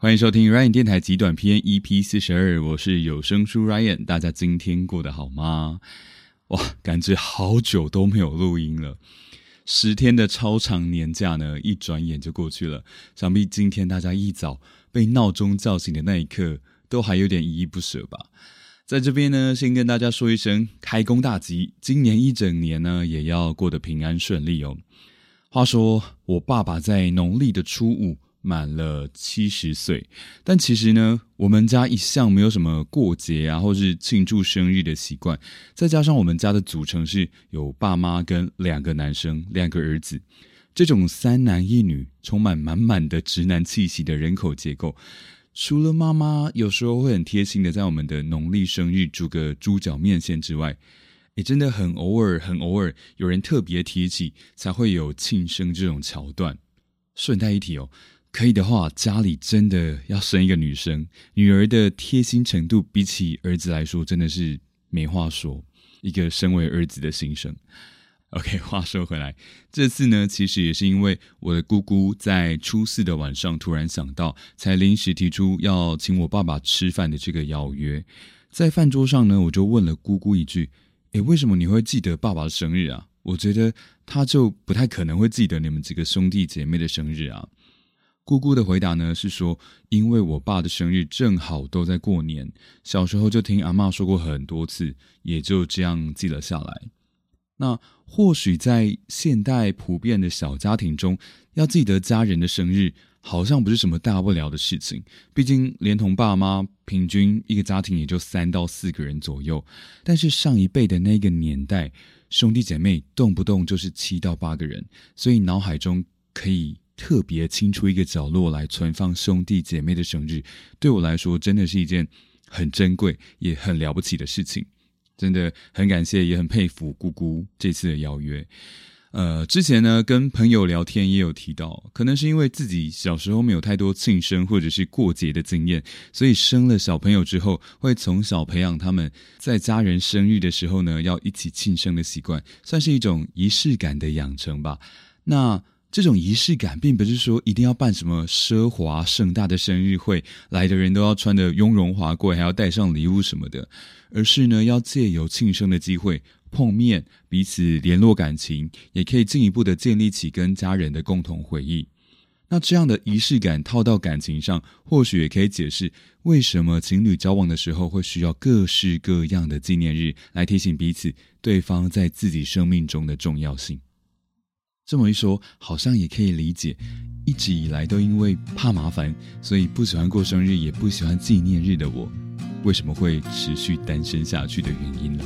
欢迎收听 Ryan 电台极短篇 EP42， 我是有声书 Ryan， 大家今天过得好吗？哇，感觉好久都没有录音了，10天的超长年假呢，一转眼就过去了。想必今天大家一早被闹钟叫醒的那一刻，都还有点依依不舍吧。在这边呢，先跟大家说一声开工大吉，今年一整年呢，也要过得平安顺利哦。话说，我爸爸在农历的初5满了70岁，但其实呢，我们家一向没有什么过节啊，或是庆祝生日的习惯。再加上我们家的组成是有爸妈跟2个男生2个儿子，这种3男1女充满满满的直男气息的人口结构，除了妈妈有时候会很贴心的在我们的农历生日煮个猪脚面线之外，真的很偶尔有人特别提起才会有庆生这种桥段。顺带一提哦，可以的话家里真的要生一个女生，女儿的贴心程度比起儿子来说真的是没话说，一个身为儿子的心声。OK， 话说回来，这次呢其实也是因为我的姑姑在初4的晚上突然想到，才临时提出要请我爸爸吃饭的这个邀约。在饭桌上呢，我就问了姑姑一句，为什么你会记得爸爸的生日啊？我觉得他就不太可能会记得你们几个兄弟姐妹的生日啊。姑姑的回答呢是说，因为我爸的生日正好都在过年，小时候就听阿嬷说过很多次，也就这样记了下来。那或许在现代普遍的小家庭中，要记得家人的生日好像不是什么大不了的事情，毕竟连同爸妈平均一个家庭也就3到4个人左右。但是上一辈的那个年代，兄弟姐妹动不动就是7到8个人，所以脑海中可以特别清出一个角落来存放兄弟姐妹的生日，对我来说真的是一件很珍贵也很了不起的事情。真的很感谢也很佩服姑姑这次的邀约。之前呢跟朋友聊天也有提到，可能是因为自己小时候没有太多庆生或者是过节的经验，所以生了小朋友之后，会从小培养他们在家人生日的时候呢要一起庆生的习惯，算是一种仪式感的养成吧。那这种仪式感并不是说一定要办什么奢华盛大的生日会，来的人都要穿得雍容华贵，还要带上礼物什么的，而是呢要借由庆生的机会碰面，彼此联络感情，也可以进一步的建立起跟家人的共同回忆。那这样的仪式感套到感情上，或许也可以解释为什么情侣交往的时候会需要各式各样的纪念日来提醒彼此对方在自己生命中的重要性。这么一说，好像也可以理解一直以来都因为怕麻烦，所以不喜欢过生日也不喜欢纪念日的我，为什么会持续单身下去的原因了。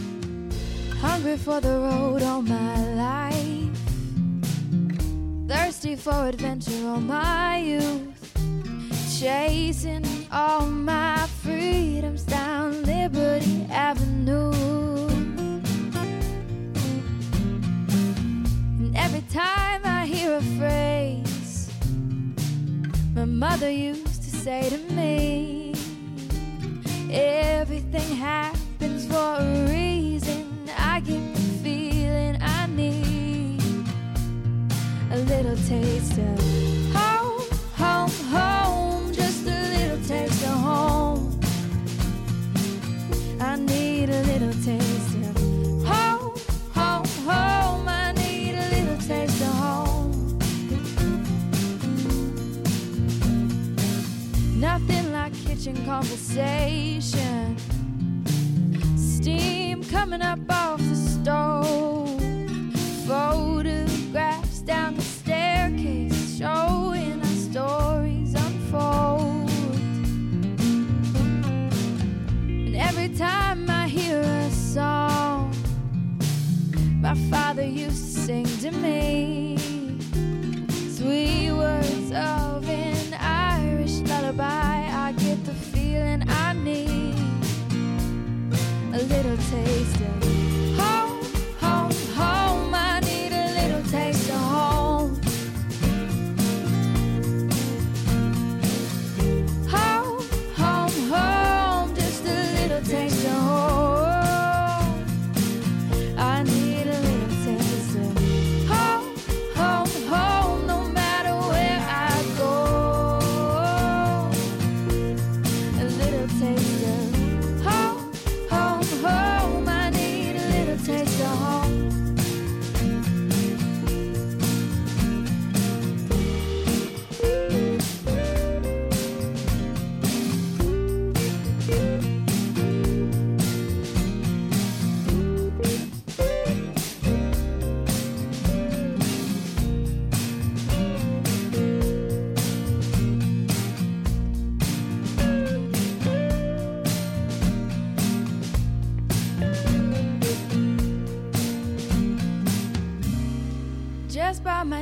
Hungry for the road all my life, thirsty for adventure all my youth, chasing all my freedoms down Liberty Avenue. And every time I hear a phrase my mother used to say to me, everything happens for a reason, I get the feeling I need a little taste of home, home, home, just a little taste of home. I need a little taste of home, home, home. I need a little taste of home. Nothing like kitchen conversation, steam coming up off the stove, photographs down the staircase showing our stories unfold. And every time I hear a song my father used to sing to me, sweet words of an Irish lullaby, I get the feeling I need a little taste of home, home, home. I need a little taste of home. Home, home, home, just a little taste of home. I need a little taste of home, home, home, no matter where I go.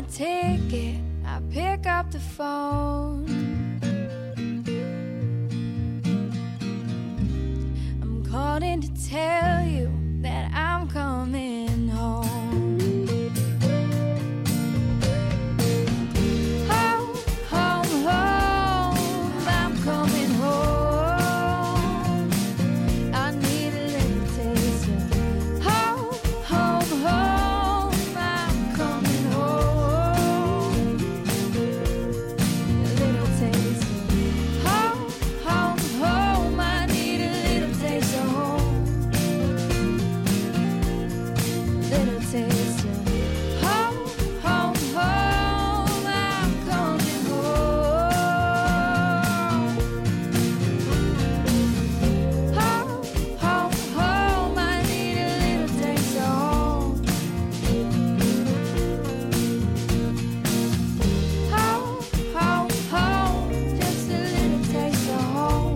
my ticket, I pick up the phone. I'm calling to tell you that I'm coming home. Home, home, home, I'm coming home. I need a little taste of home, home, home, I'm coming home. A little taste of home, home, home, I need a little taste of home. Little taste of home, home, home, I'm coming home. Home, home, home, I need a little taste of home. Home, home, home, just a little taste of home.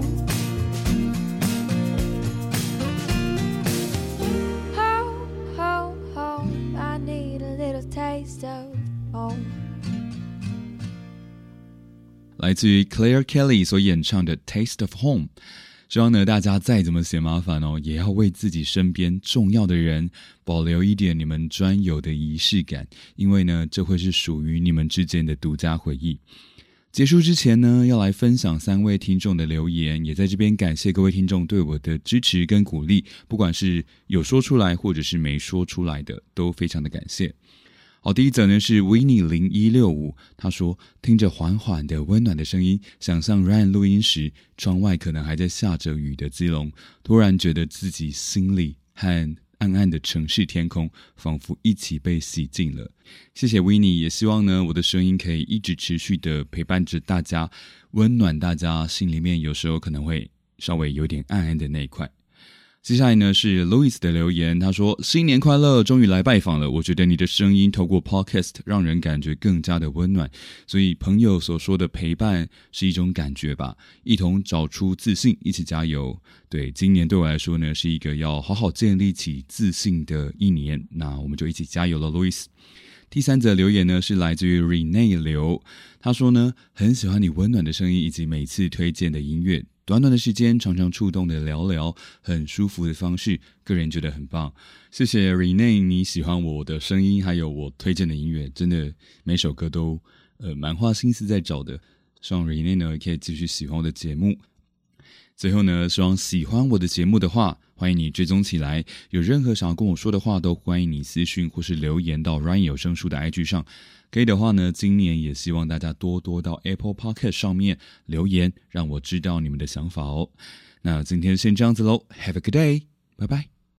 Home, home, home, I need a little taste of home. 来自于 Claire Kelly 所演唱的 Taste of Home。希望呢大家再怎么嫌麻烦哦，也要为自己身边重要的人保留一点你们专有的仪式感，因为呢这会是属于你们之间的独家回忆。结束之前呢，要来分享3位听众的留言，也在这边感谢各位听众对我的支持跟鼓励，不管是有说出来或者是没说出来的，都非常的感谢。好，第一则呢是 Winnie0165， 他说听着缓缓的温暖的声音，想象 Ryan 录音时窗外可能还在下着雨的基隆，突然觉得自己心里和暗暗的城市天空仿佛一起被洗净了。谢谢 Winnie， 也希望呢我的声音可以一直持续的陪伴着大家，温暖大家心里面有时候可能会稍微有点暗暗的那一块。接下来呢是 Louis 的留言，他说新年快乐，终于来拜访了，我觉得你的声音透过 Podcast 让人感觉更加的温暖，所以朋友所说的陪伴是一种感觉吧，一同找出自信，一起加油。对，今年对我来说呢是一个要好好建立起自信的一年，那我们就一起加油了 Louis。第3则留言呢是来自于 Renee 刘，他说呢很喜欢你温暖的声音以及每次推荐的音乐，短短的时间常常触动的聊聊，很舒服的方式，个人觉得很棒。谢谢 Renee 你喜欢我的声音还有我推荐的音乐，真的每首歌都蛮花心思在找的，希望 Renee 呢可以继续喜欢我的节目。最后呢，希望喜欢我的节目的话，欢迎你追踪起来，有任何想要跟我说的话，都欢迎你私讯或是留言到 Ryan 有声书的 IG 上。可以的话呢，今年也希望大家多多到 Apple Podcast 上面留言，让我知道你们的想法哦。那今天先这样子咯， Have a good day， 拜拜。